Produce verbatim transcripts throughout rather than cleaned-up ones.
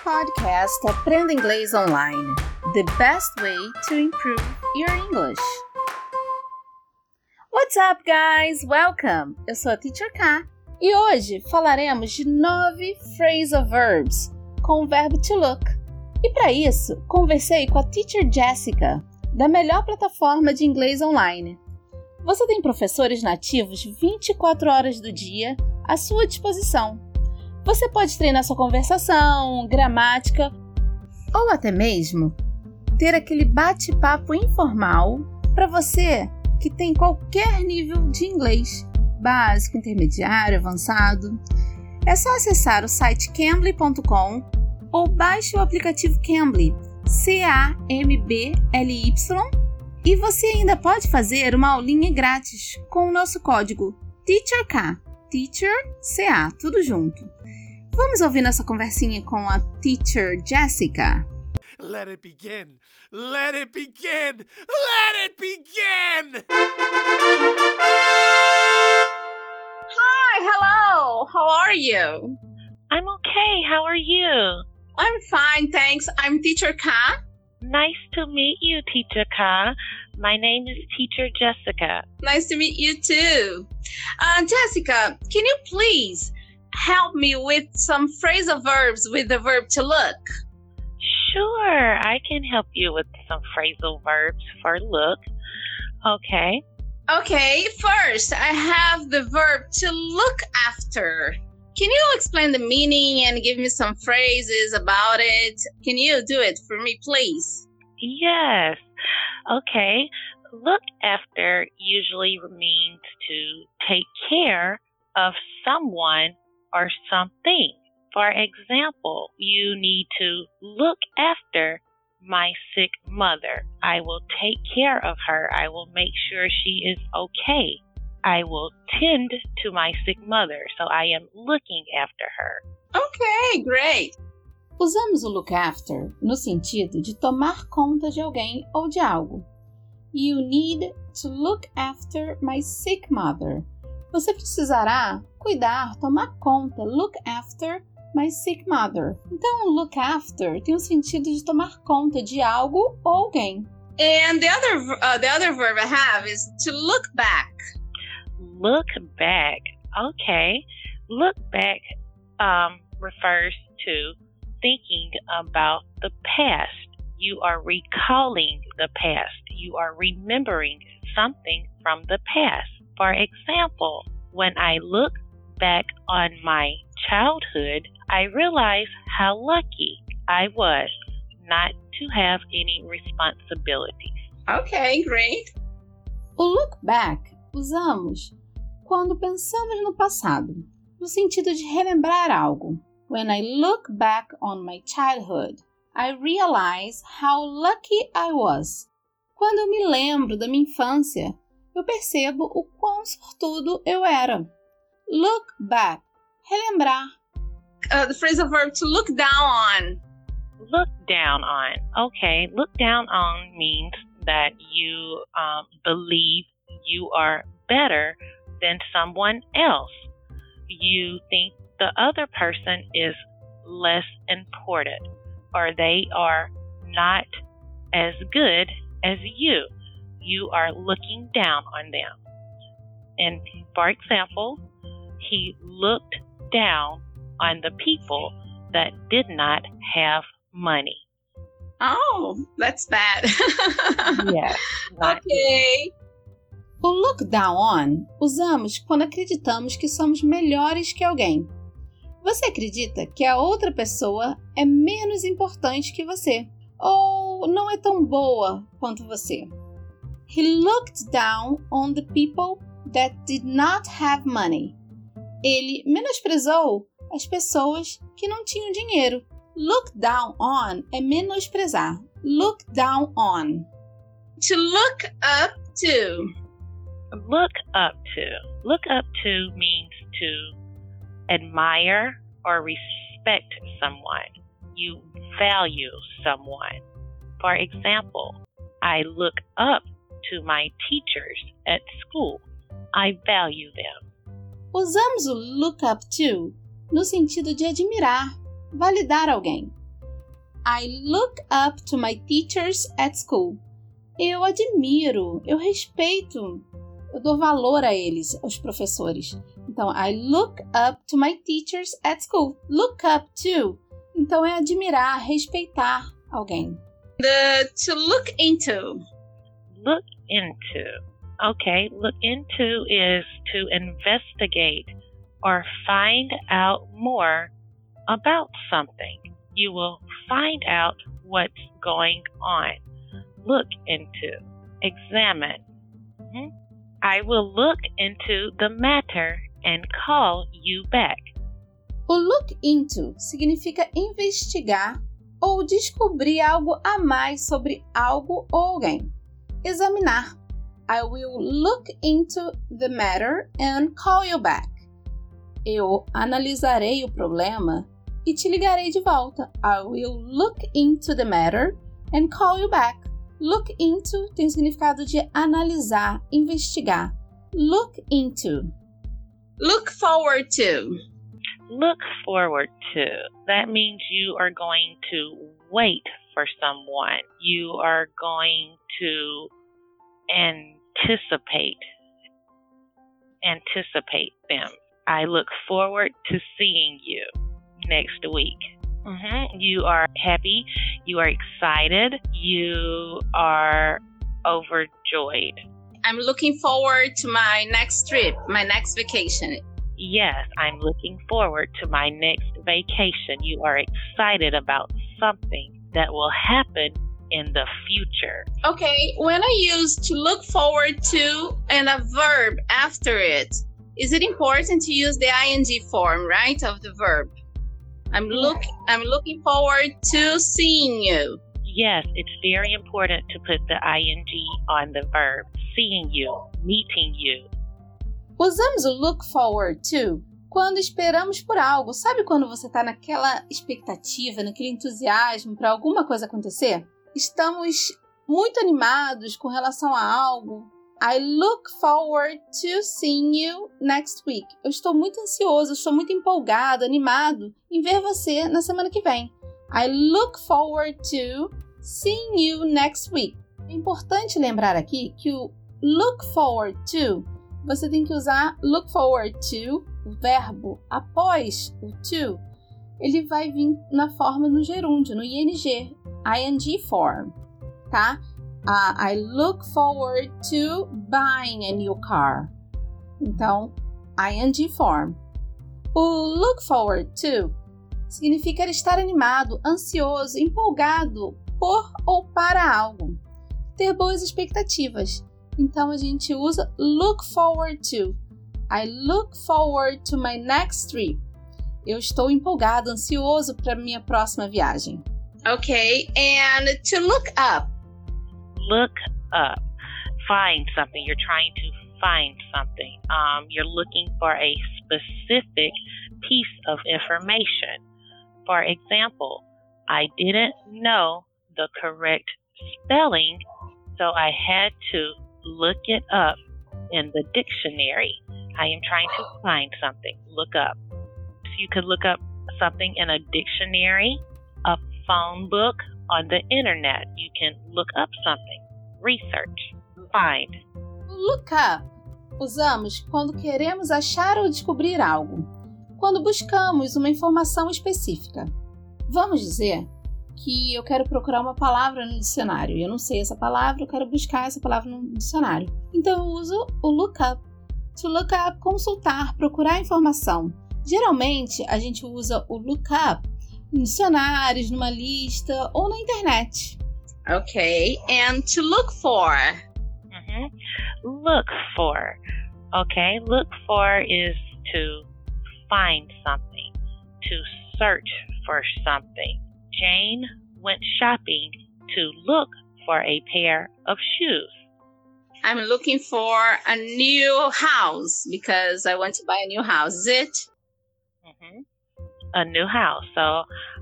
podcast Aprenda Inglês Online. The best way to improve your English. What's up, guys? Welcome! Eu sou a Teacher K e hoje falaremos de nove phrasal verbs com o verbo to look. E para isso, conversei com a Teacher Jessica, da melhor plataforma de inglês online. Você tem professores nativos vinte e quatro horas do dia à sua disposição. Você pode treinar sua conversação, gramática ou até mesmo ter aquele bate-papo informal para você que tem qualquer nível de inglês, básico, intermediário, avançado. É só acessar o site cambly ponto com ou baixe o aplicativo Cambly, C A M B L Y, e você ainda pode fazer uma aulinha grátis com o nosso código TEACHERK, Teacher C A, tudo junto. Vamos ouvir nossa conversinha com a Teacher Jessica. Let it begin! Let it begin! Let it begin! Hi, hello. How are you? I'm okay. How are you? I'm fine, thanks. I'm Teacher K. Nice to meet you, Teacher Ka. My name is Teacher Jessica. Nice to meet you too. Uh, Jessica, can you please help me with some phrasal verbs with the verb to look? Sure, I can help you with some phrasal verbs for look. Okay. Okay, first I have the verb to look after. Can you explain the meaning and give me some phrases about it? Can you do it for me, please? Yes. Okay. Look after usually means to take care of someone or something. For example, you need to look after my sick mother. I will take care of her. I will make sure she is okay. I will tend to my sick mother, so I am looking after her. Okay, great. Usamos o look after no sentido de tomar conta de alguém ou de algo. You need to look after my sick mother. Você precisará cuidar, tomar conta, look after my sick mother. Então, look after tem o sentido de tomar conta de algo ou alguém. And the other, uh, the other verb I have is to look back. Look back. Okay. Look back um, refers to thinking about the past. You are recalling the past. You are remembering something from the past. For example, when I look back on my childhood, I realize how lucky I was not to have any responsibilities. Okay, great. O look back usamos quando pensamos no passado, no sentido de relembrar algo. When I look back on my childhood, I realize how lucky I was. Quando eu me lembro da minha infância, eu percebo o quão sortudo eu era. Look back, relembrar. Uh, the phrasal verb to look down on. Look down on. Okay, look down on means that you um, believe you are better than someone else. You think the other person is less important or they are not as good as you. You are looking down on them. And for example, he looked down on the people that did not have money. Oh, that's bad. Yes. Okay. O look down on usamos quando acreditamos que somos melhores que alguém. Você acredita que a outra pessoa é menos importante que você ou não é tão boa quanto você. He looked down on the people that did not have money. Ele menosprezou as pessoas que não tinham dinheiro. Look down on é menosprezar. Look down on. To look up to. Look up to. Look up to means to admire or respect someone. You value someone. For example, I look up to my teachers at school. I value them. Usamos o look up to no sentido de admirar, validar alguém. I look up to my teachers at school. Eu admiro, eu respeito, eu dou valor a eles, aos professores. Então, I look up to my teachers at school. Look up to. Então, é admirar, respeitar alguém. The to look into. Look into. Okay, look into is to investigate or find out more about something. You will find out what's going on. Look into. Examine. Mm-hmm. I will look into the matter and call you back. O look into significa investigar ou descobrir algo a mais sobre algo ou alguém. Examinar. I will look into the matter and call you back. Eu analisarei o problema e te ligarei de volta. I will look into the matter and call you back. Look into tem o significado de analisar, investigar. Look into. Look forward to. Look forward to. That means you are going to wait for someone. You are going to anticipate. Anticipate them. I look forward to seeing you next week. Mm-hmm. You are happy. You are excited. You are overjoyed. I'm looking forward to my next trip, my next vacation. Yes, I'm looking forward to my next vacation. You are excited about something that will happen in the future. Okay, when I use to look forward to and a verb after it, is it important to use the ing form, right, of the verb? I'm look I'm looking forward to seeing you. Yes, it's very important to put the ing on the verb. Seeing you, meeting you. Usamos o look forward to quando esperamos por algo. Sabe quando você está naquela expectativa, naquele entusiasmo para alguma coisa acontecer? Estamos muito animados com relação a algo. I look forward to seeing you next week. Eu estou muito ansioso, estou muito empolgado, animado em ver você na semana que vem. I look forward to seeing you next week. É importante lembrar aqui que o look forward to, você tem que usar look forward to, o verbo após o to, ele vai vir na forma no gerúndio, no ing, ing form, tá? Uh, I look forward to buying a new car. Então, ing form. O look forward to significa estar animado, ansioso, empolgado por ou para algo. Ter boas expectativas. Então, a gente usa look forward to. I look forward to my next trip. Eu estou empolgado, ansioso para minha próxima viagem. Okay, and to look up. Look up. Find something. You're trying to find something. Um, you're looking for a specific piece of information. For example, I didn't know the correct spelling, so I had to look it up in the dictionary. I am trying to find something. Look up. So you could look up something in a dictionary, a phone book, on the internet. You can look up something. Research. Find. Look up usamos quando queremos achar ou descobrir algo. Quando buscamos uma informação específica. Vamos dizer que eu quero procurar uma palavra no dicionário. Eu não sei essa palavra, eu quero buscar essa palavra no dicionário. Então eu uso o look up. To look up, consultar, procurar informação. Geralmente a gente usa o look up em dicionários, numa lista ou na internet. Okay, and to look for. Mm-hmm. Look for. Okay, look for is to find something, to search for something. Jane went shopping to look for a pair of shoes. I'm looking for a new house because I want to buy a new house. Is it? Mm-hmm. A new house. So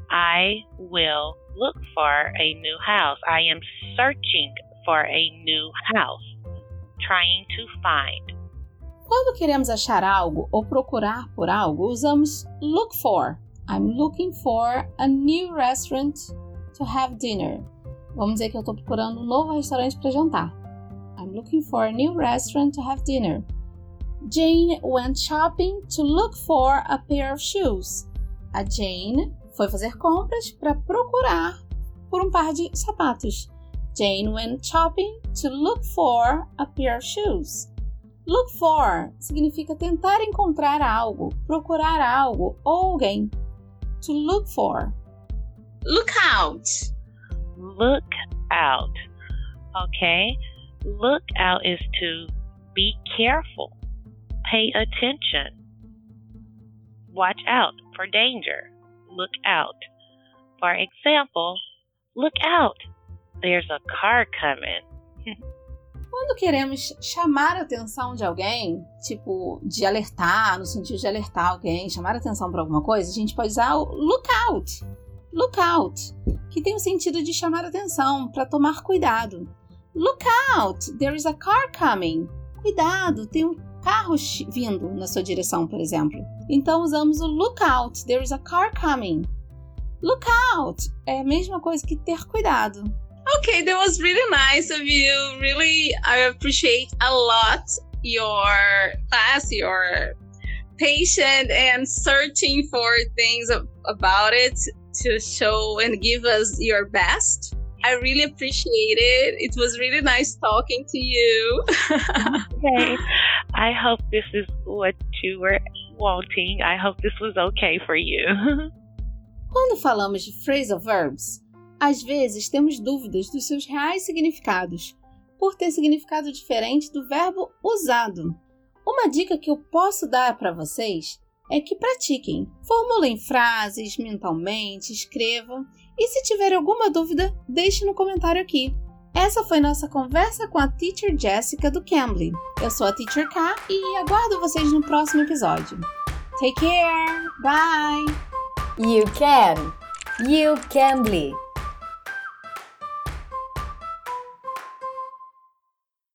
I will look for a new house. I am searching for a new house. Trying to find. Quando queremos achar algo ou procurar por algo, usamos look for. I'm looking for a new restaurant to have dinner. Vamos dizer que eu estou procurando um novo restaurante para jantar. I'm looking for a new restaurant to have dinner. Jane went shopping to look for a pair of shoes. A Jane foi fazer compras para procurar por um par de sapatos. Jane went shopping to look for a pair of shoes. Look for significa tentar encontrar algo, procurar algo ou alguém. To look for. Look out. Look out. Okay? Look out is to be careful. Pay attention. Watch out for danger. Look out. For example, look out. There's a car coming. Quando queremos chamar a atenção de alguém, tipo de alertar, no sentido de alertar alguém, chamar a atenção para alguma coisa, a gente pode usar o look out. Look out, que tem o sentido de chamar a atenção, para tomar cuidado. Look out, there is a car coming. Cuidado, tem um carro vindo na sua direção, por exemplo. Então usamos o look out, there is a car coming. Look out é a mesma coisa que ter cuidado. Okay, that was really nice of you. Really, I appreciate a lot your class, your patience and searching for things about it to show and give us your best. I really appreciate it. It was really nice talking to you. Okay. I hope this is what you were wanting. I hope this was okay for you. Quando falamos de phrasal verbs, às vezes temos dúvidas dos seus reais significados, por ter significado diferente do verbo usado. Uma dica que eu posso dar para vocês é que pratiquem, formulem frases mentalmente, escrevam e se tiver alguma dúvida, deixe no comentário aqui. Essa foi nossa conversa com a Teacher Jessica do Cambly. Eu sou a Teacher K e aguardo vocês no próximo episódio. Take care! Bye! You can! You Cambly!